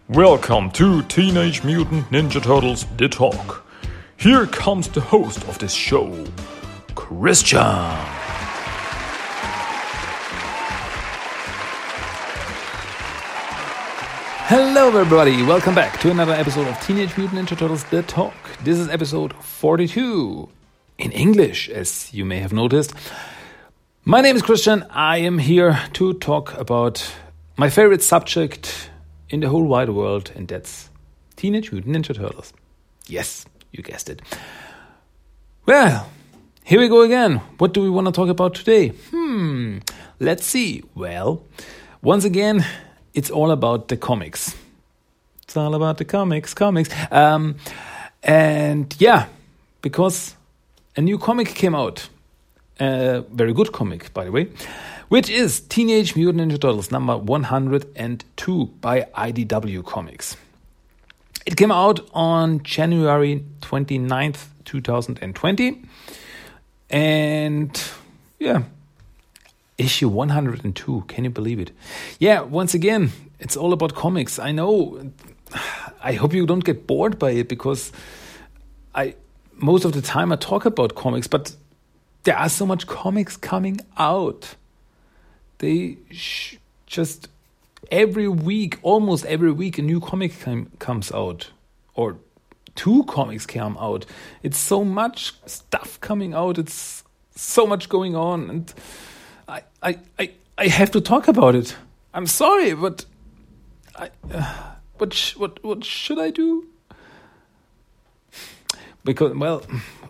Welcome to Teenage Mutant Ninja Turtles The Talk. Here comes the host of this show, Christian. Hello everybody, welcome back to another episode of Teenage Mutant Ninja Turtles The Talk. This is episode 42, in English, as you may have noticed. My name is Christian. I am here to talk about my favorite subject in the whole wide world, and that's Teenage Mutant Ninja Turtles. Yes, you guessed it. Well, here we go again. What do we want to talk about today? Let's see. Well, once again, it's all about the comics. It's all about the comics. And yeah, because a new comic came out. A very good comic, by the way, which is Teenage Mutant Ninja Turtles number 102 by IDW Comics. It came out on January 29th, 2020. And yeah, issue 102. Can you believe it? Yeah, once again, it's all about comics. I know. I hope you don't get bored by it, because most of the time I talk about comics, but there are so much comics coming out. They just almost every week, a new comic comes out, or two comics come out. It's so much stuff coming out. It's so much going on, and I have to talk about it. I'm sorry, but what should I do? Because, well,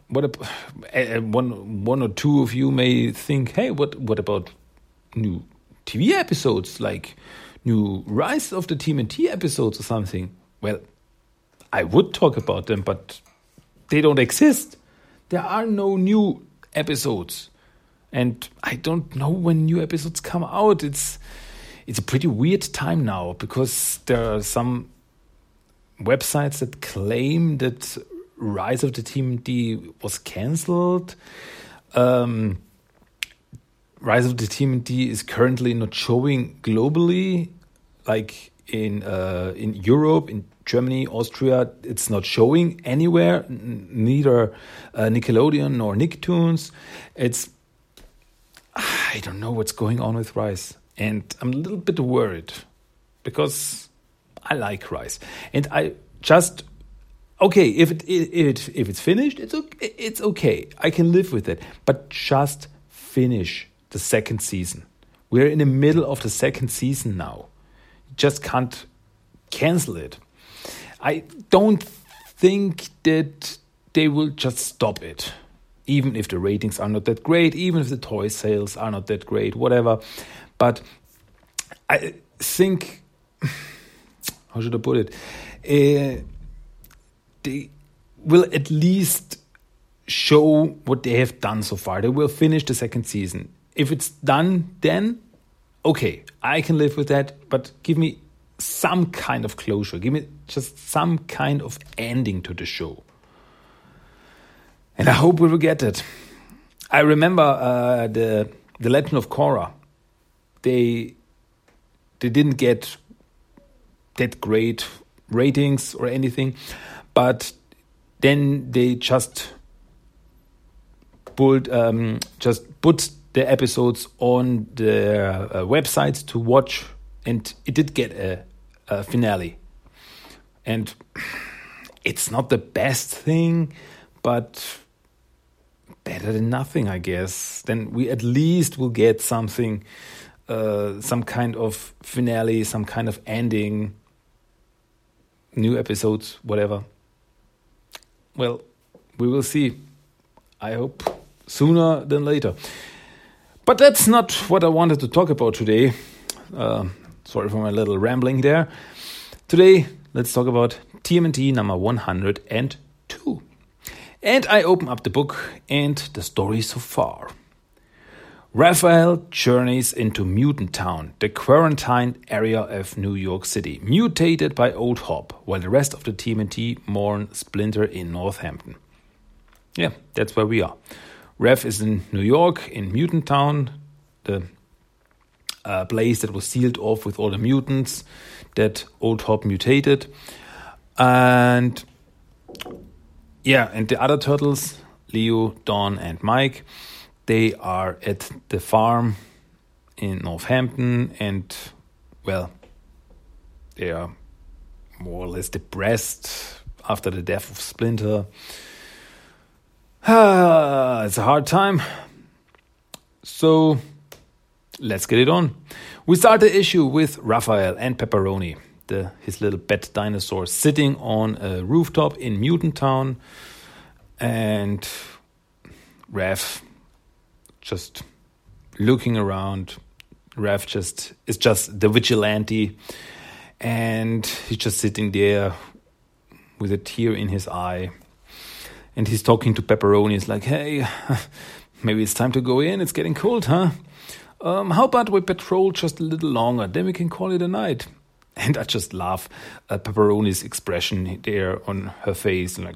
one or two of you may think, hey, what about new TV episodes, like new Rise of the TMNT episodes or something? Well, I would talk about them, but they don't exist. There are no new episodes, and I don't know when new episodes come out. It's a pretty weird time now, because there are some websites that claim that Rise of the TMNT was cancelled. Rise of the TMNT is currently not showing globally, like in Europe, in Germany, Austria. It's not showing anywhere, neither Nickelodeon nor Nicktoons. I don't know what's going on with Rise, and I'm a little bit worried, because I like Rise, and I just. Okay, if it's finished, it's okay. I can live with it. But just finish the second season. We're in the middle of the second season now. You just can't cancel it. I don't think that they will just stop it. Even if the ratings are not that great, even if the toy sales are not that great, whatever. But I think, how should I put it? They will at least show what they have done so far. They will finish the second season. If it's done, then okay, I can live with that. But give me some kind of closure. Give me just some kind of ending to the show. And I hope we will get it. I remember the Legend of Korra. They didn't get that great ratings or anything. But then they just put the episodes on the websites to watch, and it did get a finale. And it's not the best thing, but better than nothing, I guess. Then we at least will get something, some kind of finale, some kind of ending, new episodes, whatever. Well, we will see. I hope sooner than later. But that's not what I wanted to talk about today. Sorry for my little rambling there. Today, let's talk about TMNT number 102. And I open up the book and the story so far. Raphael journeys into Mutant Town, the quarantined area of New York City, mutated by Old Hop, while the rest of the TMNT mourn Splinter in Northampton. Yeah, that's where we are. Raph is in New York, in Mutant Town, the place that was sealed off with all the mutants that Old Hop mutated. And the other turtles, Leo, Don, and Mike, they are at the farm in Northampton, and, well, they are more or less depressed after the death of Splinter. It's a hard time. So, let's get it on. We start the issue with Raphael and Pepperoni, his little pet dinosaur, sitting on a rooftop in Mutant Town, and Raph just looking around. Raph is just the vigilante, and he's just sitting there with a tear in his eye, and he's talking to Pepperoni. He's like, "Hey, maybe it's time to go in. It's getting cold, huh? How about we patrol just a little longer? Then we can call it a night." And I just laugh at Pepperoni's expression there on her face, and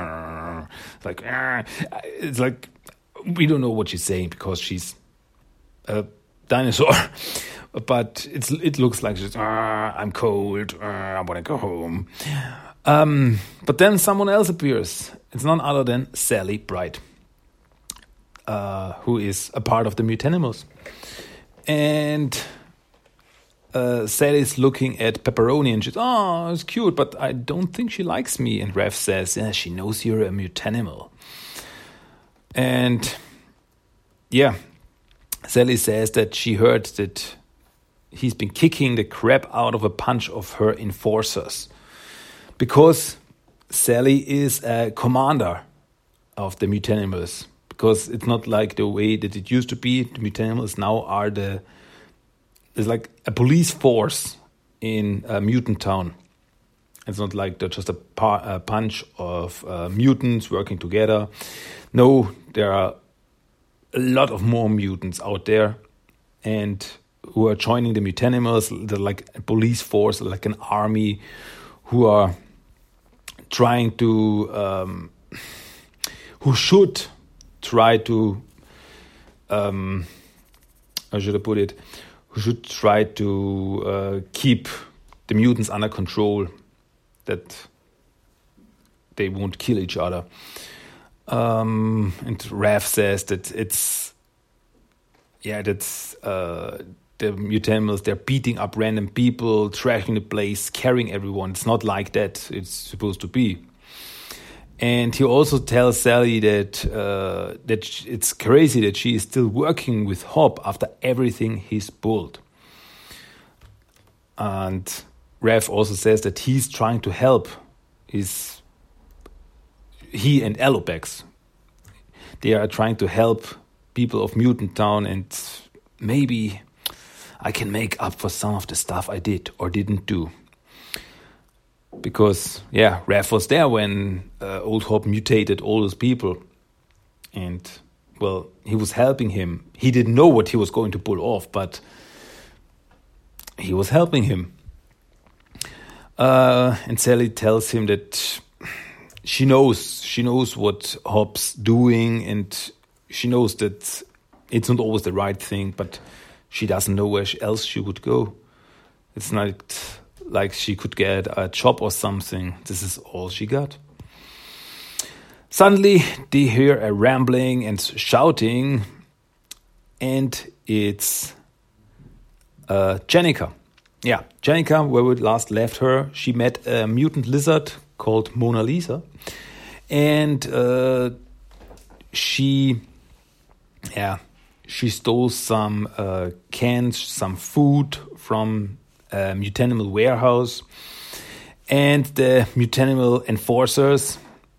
it's like we don't know what she's saying because she's a dinosaur, but it looks like she's I'm cold, I want to go home. But then someone else appears. It's none other than Sally Bright, who is a part of the Mutanimals. And Sally's looking at Pepperoni and she's, it's cute, but I don't think she likes me. And Raph says, yeah, she knows you're a mutanimal. And yeah, Sally says that she heard that he's been kicking the crap out of a bunch of her enforcers. Because Sally is a commander of the Mutanimals. Because it's not like the way that it used to be. The Mutanimals now are there's like a police force in Mutant Town. It's not like they're just a bunch of mutants working together. No, there are a lot of more mutants out there, and who are joining the Mutanimals. They're like a police force, like an army, who are trying to, who should try to, how should I put it? Who should try to keep the mutants under control, that they won't kill each other. And Raph says that the Mutanimals, they're beating up random people, trashing the place, scaring everyone. It's not like that it's supposed to be. And he also tells Sally that it's crazy that she is still working with Hop after everything he's pulled. And Raph also says that he's trying to help. He and Alopex, they are trying to help people of Mutant Town, and maybe I can make up for some of the stuff I did or didn't do. Because, yeah, Raph was there when Old Hop mutated all those people. And, well, he was helping him. He didn't know what he was going to pull off, but he was helping him. And Sally tells him that she knows what Hop's doing, and she knows that it's not always the right thing, but she doesn't know where else she would go. It's not like she could get a job or something. This is all she got. Suddenly, they hear a rambling and shouting, and it's Jennika. Yeah, Jennika, where we last left her, she met a mutant lizard called Mona Lisa, and she stole some cans, some food from a Mutanimal warehouse, and the Mutanimal enforcers,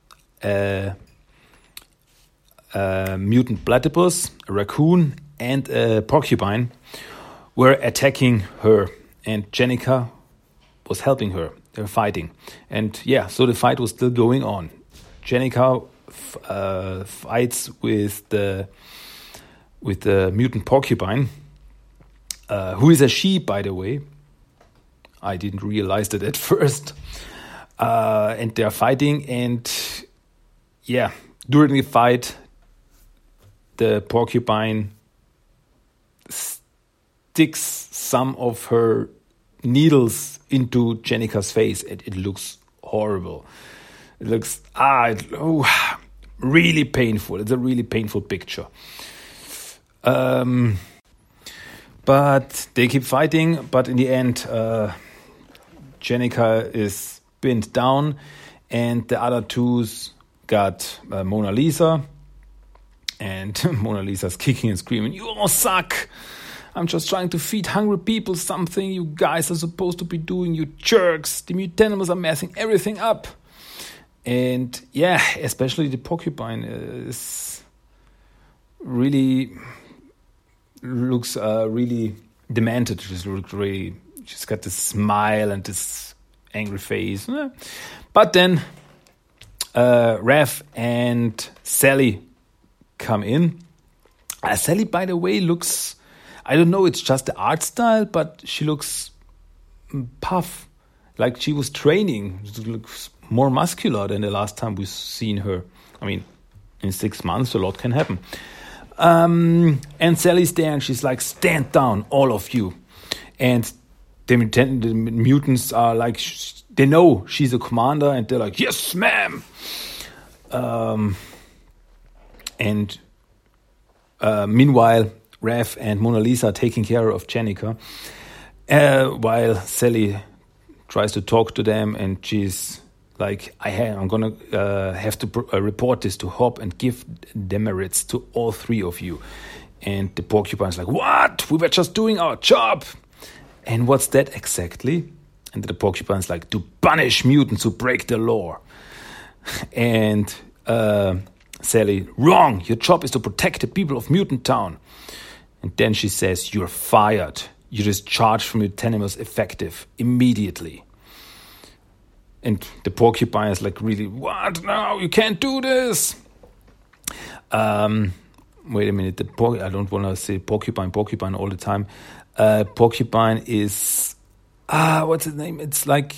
mutant platypus, a raccoon, and a porcupine, were attacking her, and Jennika was helping her. They were fighting, and so the fight was still going on. Jennika fights with the mutant porcupine, who is a she, by the way. I didn't realize that at first. And they're fighting, and during the fight, the porcupine sticks some of her needles into Jennika's face. It looks horrible. It looks really painful. It's a really painful picture. But they keep fighting. But in the end, Jennika is pinned down, and the other two's got Mona Lisa. And Mona Lisa's kicking and screaming, "You all suck! I'm just trying to feed hungry people something you guys are supposed to be doing, you jerks! The mutanimals are messing everything up!" And yeah, especially the porcupine is really looks really demented. She's got this smile and this angry face. But then Raph and Sally come in. Sally, by the way, looks, I don't know, it's just the art style, but she looks puff, like she was training. She looks more muscular than the last time we've seen her. I mean, in 6 months, a lot can happen. And Sally's there, and she's like, "Stand down, all of you." And the mutants are like, they know she's a commander, and they're like, "Yes, ma'am." And meanwhile, Raph and Mona Lisa are taking care of Jennika, while Sally tries to talk to them, and she's like, I'm going to have to report this to Hop and give demerits to all 3 of you. And the porcupine's like, "What? We were just doing our job." "And what's that exactly?" And the porcupine's like, "To punish mutants who break the law." And Sally, "Wrong. Your job is to protect the people of Mutant Town." And then she says, "You're fired. You're discharged from your Mutanimals effective immediately." And the porcupine is like, really, "What? No, you can't do this." Wait a minute. I don't want to say porcupine all the time. Porcupine is, what's his name? It's like,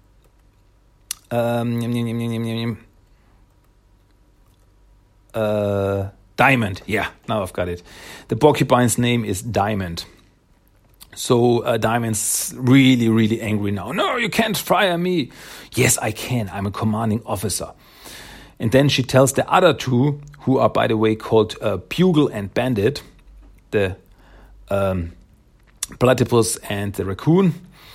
Diamond. Yeah, now I've got it. The porcupine's name is Diamond. So Diamond's really, really angry now. "No, you can't fire me." "Yes, I can. I'm a commanding officer." And then she tells the other 2, who are, by the way, called Bugle and Bandit, the platypus and the raccoon,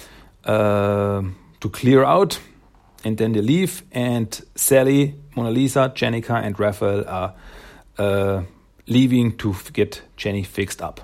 to clear out. And then they leave. And Sally, Mona Lisa, Jennika, and Raphael are leaving to get Jenny fixed up.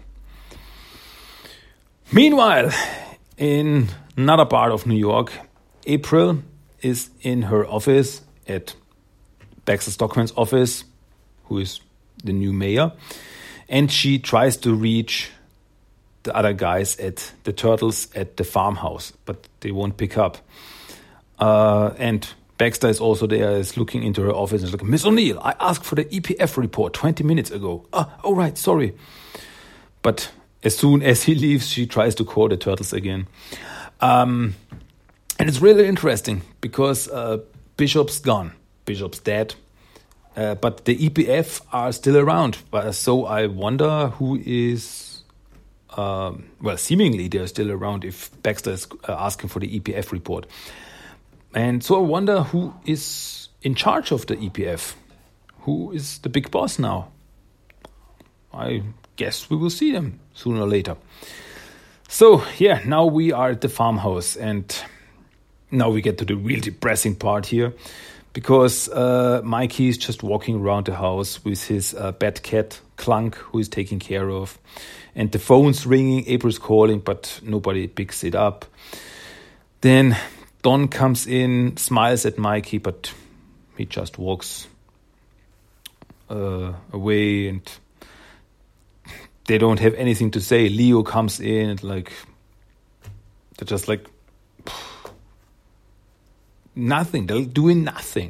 Meanwhile, in another part of New York, April is in her office at Baxter Stockman's office, who is the new mayor, and she tries to reach the other guys at the Turtles at the farmhouse, but they won't pick up. And Baxter is also there, is looking into her office and is like, "Miss O'Neill, I asked for the EPF report 20 minutes ago. Oh, right, sorry." But as soon as he leaves, she tries to call the Turtles again. And it's really interesting because Bishop's gone. Bishop's dead. But the EPF are still around. So I wonder who is... seemingly they're still around if Baxter is asking for the EPF report. And so I wonder who is in charge of the EPF. Who is the big boss now? I guess we will see them sooner or later. So, yeah, now we are at the farmhouse, and now we get to the real depressing part here, because Mikey is just walking around the house with his pet cat, Clunk, who is taken care of. And the phone's ringing, April's calling, but nobody picks it up. Then Don comes in, smiles at Mikey, but he just walks away, and they don't have anything to say. Leo comes in and they're just like nothing. They're doing nothing.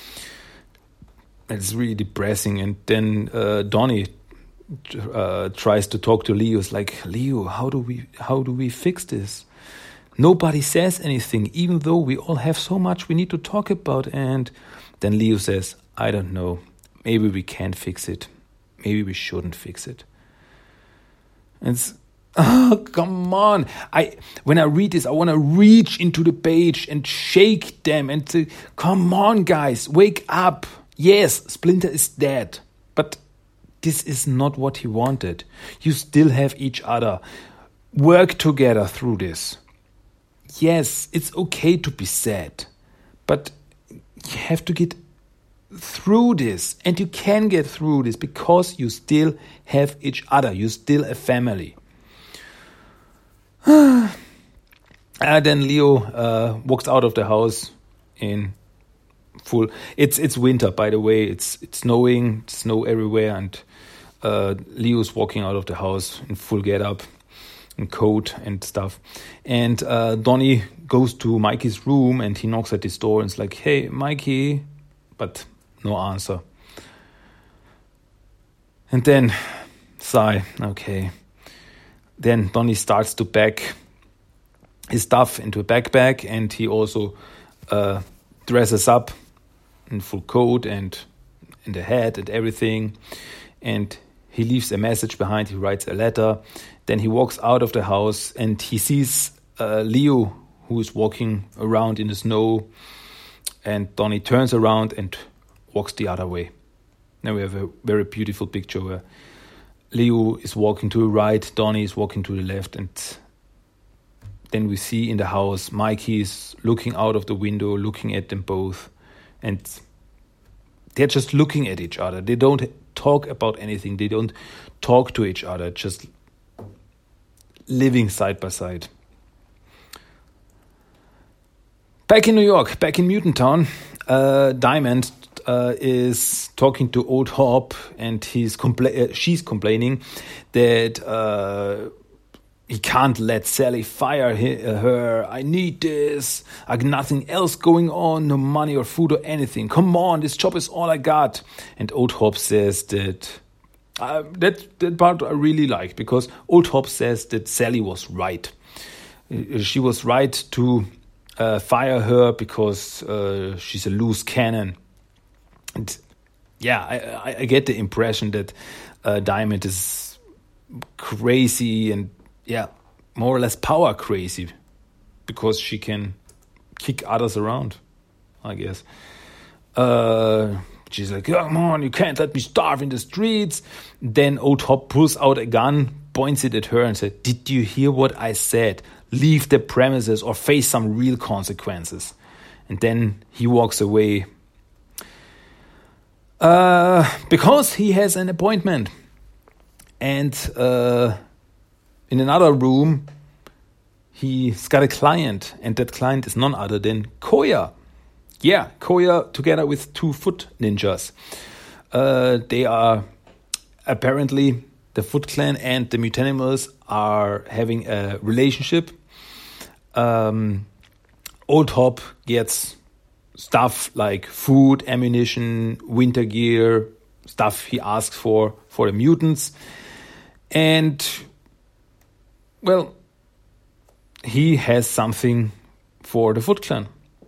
It's really depressing. And then Donnie tries to talk to Leo. It's like, "Leo, how do we fix this? Nobody says anything, even though we all have so much we need to talk about." And then Leo says, "I don't know. Maybe we can't fix it. Maybe we shouldn't fix it." And Oh, come on. When I read this, I want to reach into the page and shake them and say, come on, guys, wake up. Yes, Splinter is dead, but this is not what he wanted. You still have each other. Work together through this. Yes, it's okay to be sad, but you have to get through this, and you can get through this because you still have each other. You're still a family. Then Leo walks out of the house in full. It's winter, by the way. It's snowing, snow everywhere, and Leo's walking out of the house in full get-up, in coat and stuff. And Donnie goes to Mikey's room and he knocks at his door and is like, "Hey, Mikey," but no answer. And then sigh, okay. Then Donnie starts to pack his stuff into a backpack, and he also dresses up in full coat and in the hat and everything. And he leaves a message behind. He writes a letter. Then he walks out of the house and he sees Leo, who is walking around in the snow. And Donnie turns around and walks the other way. Now we have a very beautiful picture where Leo is walking to the right, Donnie is walking to the left, and then we see in the house Mikey is looking out of the window, looking at them both, and they're just looking at each other. They don't talk about anything. They don't talk to each other, just living side by side. Back in New York, back in Mutant Town, Diamond is talking to Old Hob, and she's complaining that he can't let Sally fire her. "I need this. I got nothing else going on, no money or food or anything. Come on, this job is all I got." And Old Hob says that part I really like, because Old Hob says that Sally was right. She was right to fire her because she's a loose cannon. And yeah, I get the impression that Diamond is crazy and more or less power crazy, because she can kick others around, I guess. She's like, "Come on, you can't let me starve in the streets." Then Old Hob pulls out a gun, points it at her and said, "Did you hear what I said? Leave the premises or face some real consequences." And then he walks away because he has an appointment. And in another room, he's got a client, and that client is none other than Koya. Yeah, Koya together with two foot ninjas. They are apparently, the Foot Clan and the Mutanimals are having a relationship. Old Hob gets stuff like food, ammunition, winter gear, stuff he asks for the mutants. And, well, he has something for the Foot Clan.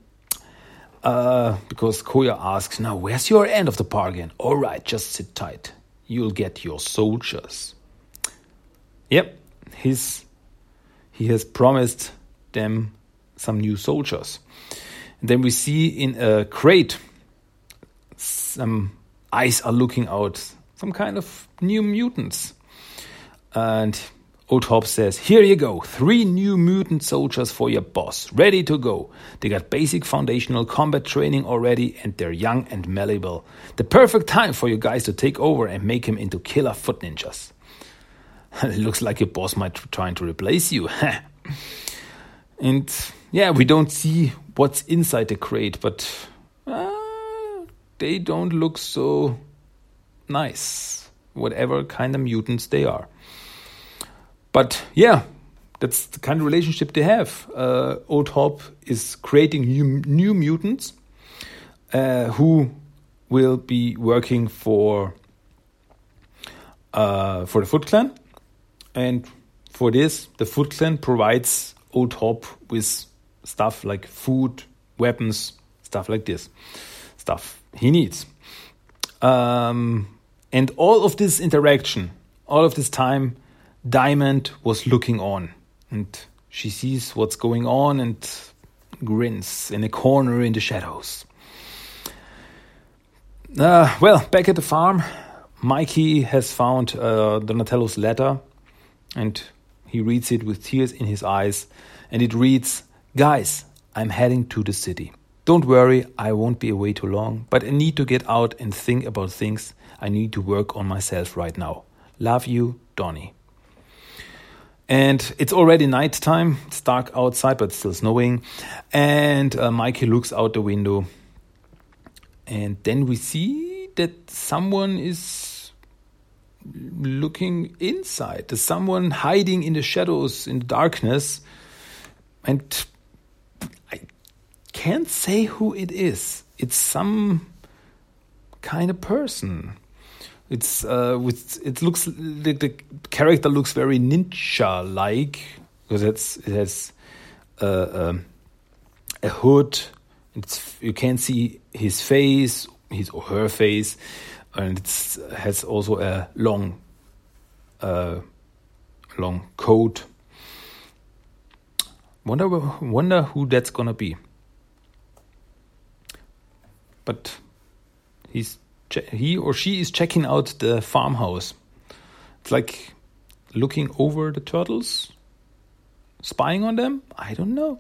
Because Koya asks, "Now, where's your end of the bargain?" "All right, just sit tight. You'll get your soldiers." Yep, he has promised them some new soldiers. And then we see in a crate some eyes are looking out, some kind of new mutants. And Old Hob says, "Here you go, 3 new mutant soldiers for your boss, ready to go. They got basic foundational combat training already, and they're young and malleable. The perfect time for you guys to take over and make him into killer foot ninjas." It looks like your boss might be trying to replace you. And yeah, we don't see what's inside the crate, but they don't look so nice, whatever kind of mutants they are. But yeah, that's the kind of relationship they have. Old Hob is creating new mutants who will be working for the Foot Clan. And for this, the Foot Clan provides Old Hob with stuff like food, weapons, stuff like this. Stuff he needs. And all of this interaction, all of this time, Diamond was looking on, and she sees what's going on and grins in a corner in the shadows. Back at the farm, Mikey has found Donatello's letter, and he reads it with tears in his eyes, and it reads, "Guys, I'm heading to the city. Don't worry, I won't be away too long, but I need to get out and think about things. I need to work on myself right now. Love you, Donnie." And it's already nighttime. It's dark outside, but it's still snowing. And Mikey looks out the window. And then we see that someone is looking inside. There's someone hiding in the shadows, in the darkness. And I can't say who it is. It's some kind of person. It looks the character looks very ninja-like because it has a hood. You can't see his face, his or her face, and it has also a long coat. Wonder who that's gonna be. But he or she is checking out the farmhouse. It's like looking over the turtles, spying on them. I don't know.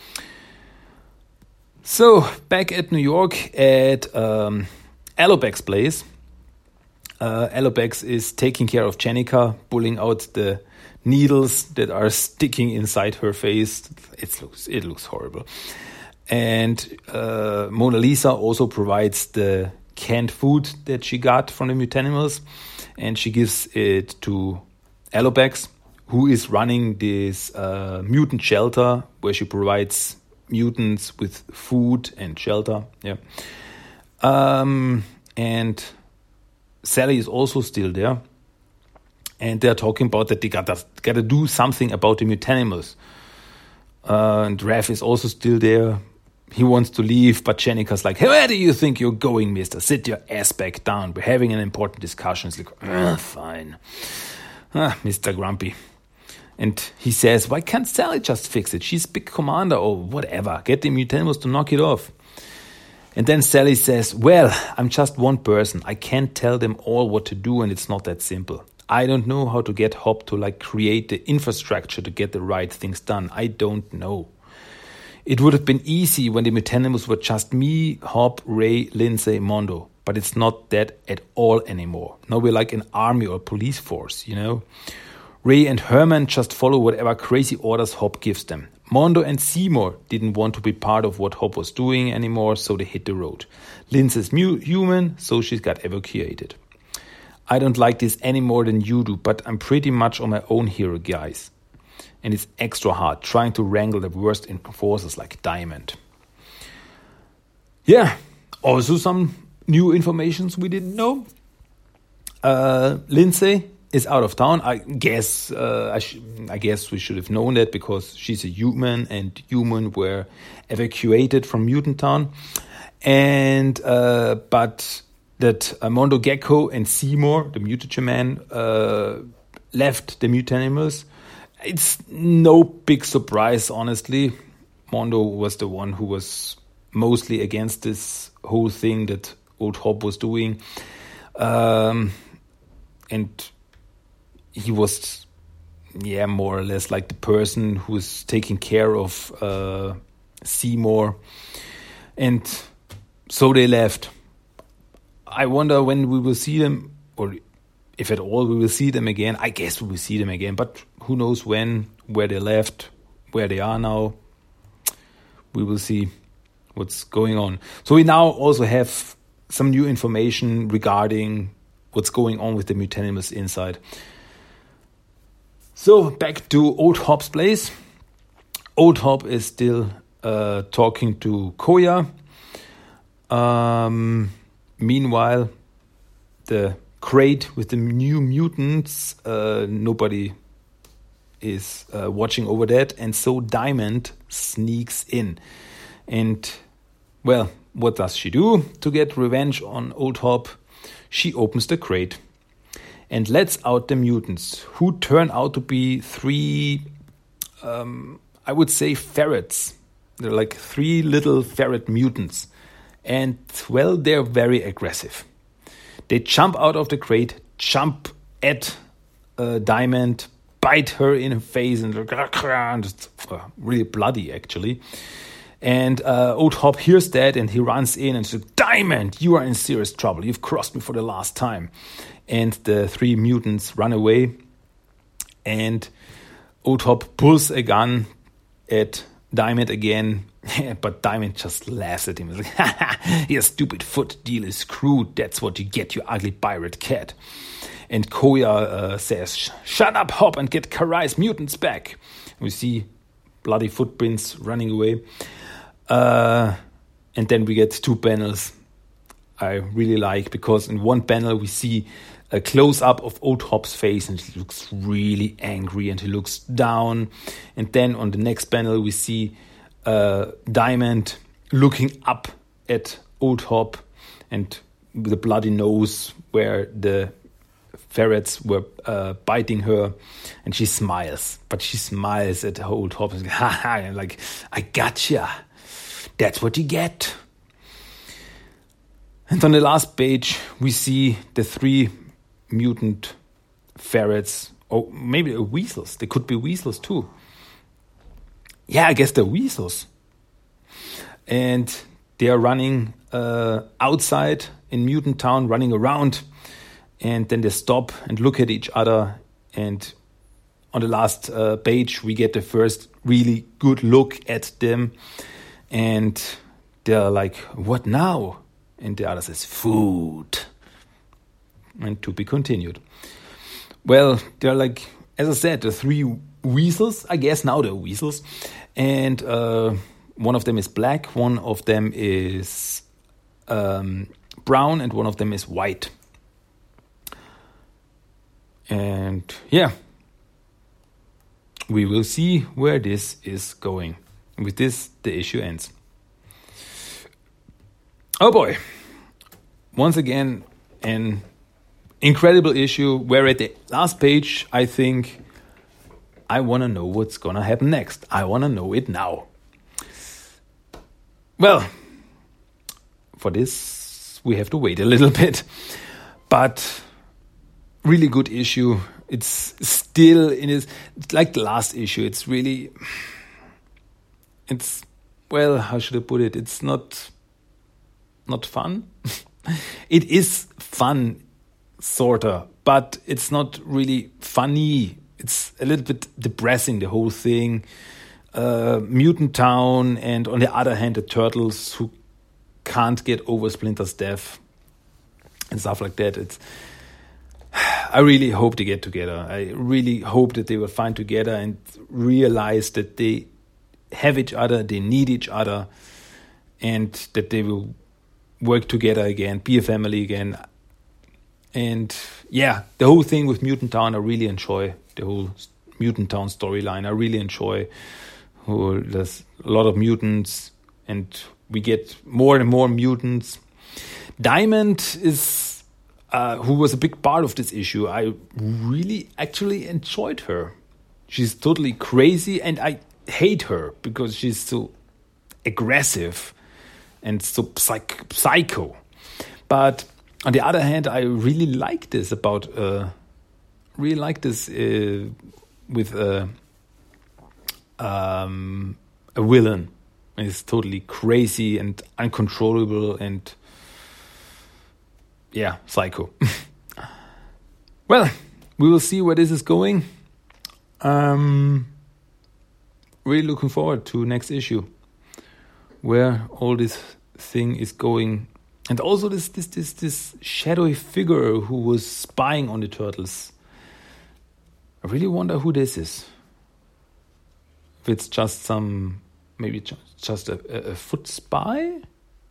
So back at New York at Alopex place, Alopex is taking care of Jennika, pulling out the needles that are sticking inside her face. It looks horrible. And Mona Lisa also provides the canned food that she got from the Mutanimals, and she gives it to Alopex, who is running this mutant shelter where she provides mutants with food and shelter. Yeah. And Sally is also still there, and they're talking about that they gotta do something about the Mutanimals. And Raph is also still there. He wants to leave, but Jennika's like, "Hey, where do you think you're going, mister? Sit your ass back down. We're having an important discussion." It's like, fine. Mr. Grumpy. And he says, "Why can't Sally just fix it? She's big commander or whatever. Get the Mutanimals to knock it off." And then Sally says, "Well, I'm just one person. I can't tell them all what to do, and it's not that simple. I don't know how to get Hop to create the infrastructure to get the right things done. I don't know. It would have been easy when the Mutanimals were just me, Hop, Ray, Lindsay, Mondo. But it's not that at all anymore. Now we're like an army or police force, you know? Ray and Herman just follow whatever crazy orders Hop gives them. Mondo and Seymour didn't want to be part of what Hop was doing anymore, so they hit the road. Lindsay's human, so she got evacuated. I don't like this any more than you do, but I'm pretty much on my own here, guys. And it's extra hard trying to wrangle the worst enforcers like Diamond." Yeah, also some new informations we didn't know. Lindsay is out of town. I guess we should have known that because she's a human, and human were evacuated from Mutant Town. And but that Mondo Gecko and Seymour, the Mutagen Man, left the Mutanimals. It's no big surprise, honestly. Mondo was the one who was mostly against this whole thing that old Hop was doing. And he was, more or less like the person who was taking care of Seymour. And so they left. I wonder when we will see them, or if at all we will see them again. I guess we will see them again, but who knows when, where they left, where they are now. We will see what's going on. So we now also have some new information regarding what's going on with the Mutanimals inside. So back to Old Hop's place. Old Hop is still talking to Koya. Meanwhile, the crate with the new mutants, nobody is watching over that, and so Diamond sneaks in. And, well, what does she do to get revenge on Old Hop? She opens the crate. and lets out the mutants, who turn out to be 3, I would say, ferrets. They're like 3 little ferret mutants. And, well, they're very aggressive. They jump out of the crate, jump at Diamond, bite her in her face, and it's really bloody, actually. And O-Top hears that, and he runs in and says, "Diamond, you are in serious trouble. You've crossed me for the last time." And the 3 mutants run away, and O-Top pulls a gun at Diamond again, but Diamond just laughs at him. He's like, "Ha ha, your stupid foot deal is screwed. That's what you get, you ugly pirate cat." And Koya says, "Shut up, Hop, and get Karai's mutants back." We see bloody footprints running away. And then we get 2 panels I really like, because in one panel we see a close-up of O-Top's face, and he looks really angry and he looks down. And then on the next panel we see Diamond looking up at O-Top, and with a bloody nose where the ferrets were biting her, and she smiles. But she smiles at O-Top and ha, and like, "I gotcha. That's what you get." And on the last page, we see the 3 mutant ferrets, or maybe weasels. They could be weasels too. Yeah, I guess they're weasels. And they are running outside in Mutant Town, running around. And then they stop and look at each other. And on the last page, we get the first really good look at them. And they're like, "What now?" And the other says, "Food." And to be continued. Well, they're like, as I said, the 3 weasels. I guess now they're weasels. And one of them is black, one of them is brown, and one of them is white. And yeah, we will see where this is going. And with this, the issue ends. Oh boy. Once again, an incredible issue where at the last page, I think, I want to know what's going to happen next. I want to know it now. Well, for this, we have to wait a little bit. But really good issue. It's still it's like the last issue. Well, how should I put it? It's not fun. It is fun, sorta, but it's not really funny. It's a little bit depressing, the whole thing. Mutant Town, and on the other hand, the Turtles who can't get over Splinter's death and stuff like that. I really hope they get together. I really hope that they will find together and realize that they have each other, they need each other, and that they will work together again, be a family again. And yeah, the whole thing with Mutant Town, I really enjoy the whole Mutant Town storyline. I really enjoy how there's a lot of mutants and we get more and more mutants. Diamond is, who was a big part of this issue. I really actually enjoyed her. She's totally crazy, and I hate her because she's so aggressive and so psycho. But on the other hand, I really like this with a villain. It's totally crazy and uncontrollable and yeah, psycho. Well, we will see where this is going. Really looking forward to next issue, where all this thing is going, and also this shadowy figure who was spying on the Turtles. I really wonder who this is. If it's just maybe just a foot spy,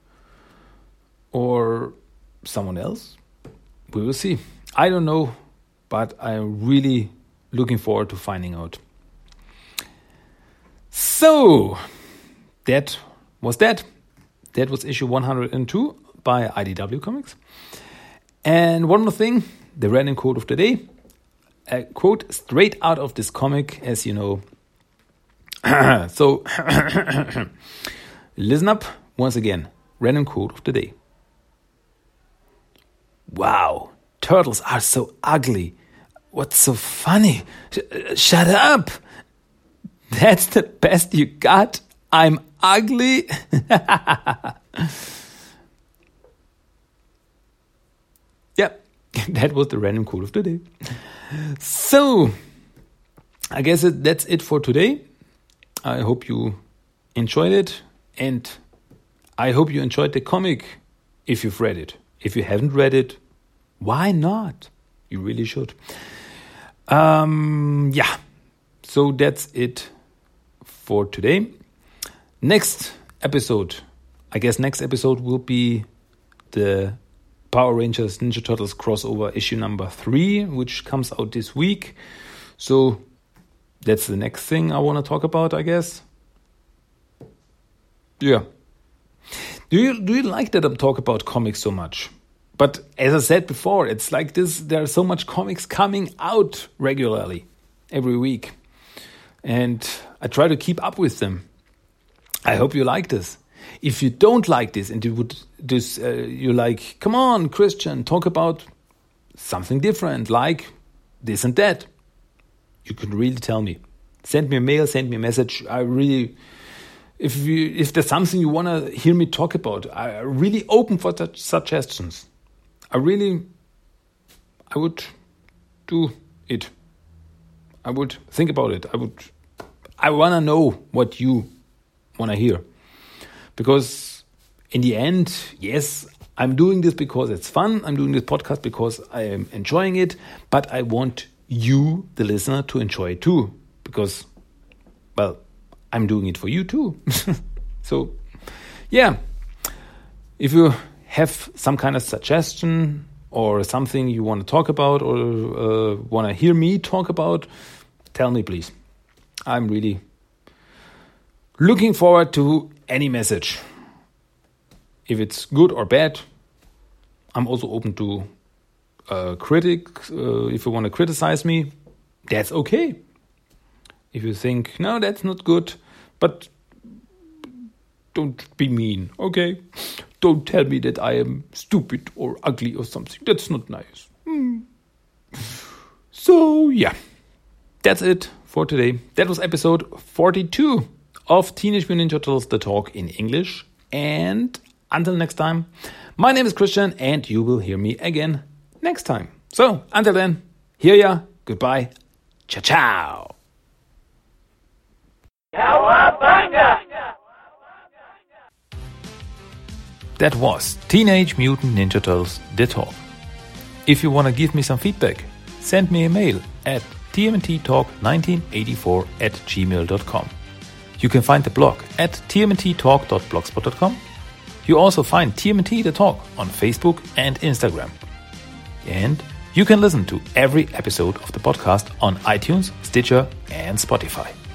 or someone else. We will see. I don't know, but I'm really looking forward to finding out. So, that was that. That was issue 102 by IDW Comics. And one more thing, the random quote of the day. A quote straight out of this comic, as you know. So, listen up once again. Random quote of the day. Wow, turtles are so ugly. What's so funny? Shut up. That's the best you got? I'm ugly? Yeah, that was the random quote of the day. So, I guess that's it for today. I hope you enjoyed it. And I hope you enjoyed the comic if you've read it. If you haven't read it, why not? You really should. Yeah. So that's it for today. Next episode will be the Power Rangers Ninja Turtles crossover issue number 3, which comes out this week. So that's the next thing I want to talk about, I guess. Yeah. Do you like that I'm talking about comics so much? But as I said before, it's like this. There are so much comics coming out regularly every week. And I try to keep up with them. I hope you like this. If you don't like this and you're like, come on, Christian, talk about something different, like this and that, you can really tell me. Send me a mail, send me a message. If there's something you want to hear me talk about, I'm really open for such suggestions. I would do it. I would think about it. I want to know what you want to hear. Because in the end, yes, I'm doing this because it's fun. I'm doing this podcast because I am enjoying it. But I want you, the listener, to enjoy it too. Because, well, I'm doing it for you too. So, yeah. If you have some kind of suggestion or something you want to talk about or want to hear me talk about, tell me, please. I'm really looking forward to any message. If it's good or bad, I'm also open to critics. If you want to criticize me, that's okay. If you think, no, that's not good, but don't be mean, okay? Don't tell me that I am stupid or ugly or something. That's not nice. So, yeah. That's it for today. That was episode 42 of Teenage Mutant Ninja Turtles, The Talk in English. And until next time, my name is Christian, and you will hear me again next time. So, until then, hear ya, goodbye, ciao, ciao. Cowabunga! That was Teenage Mutant Ninja Turtles, The Talk. If you want to give me some feedback, send me a mail at tmnttalk1984@gmail.com. You can find the blog at tmnttalk.blogspot.com. You also find TMNT The Talk on Facebook and Instagram. And you can listen to every episode of the podcast on iTunes, Stitcher, and Spotify.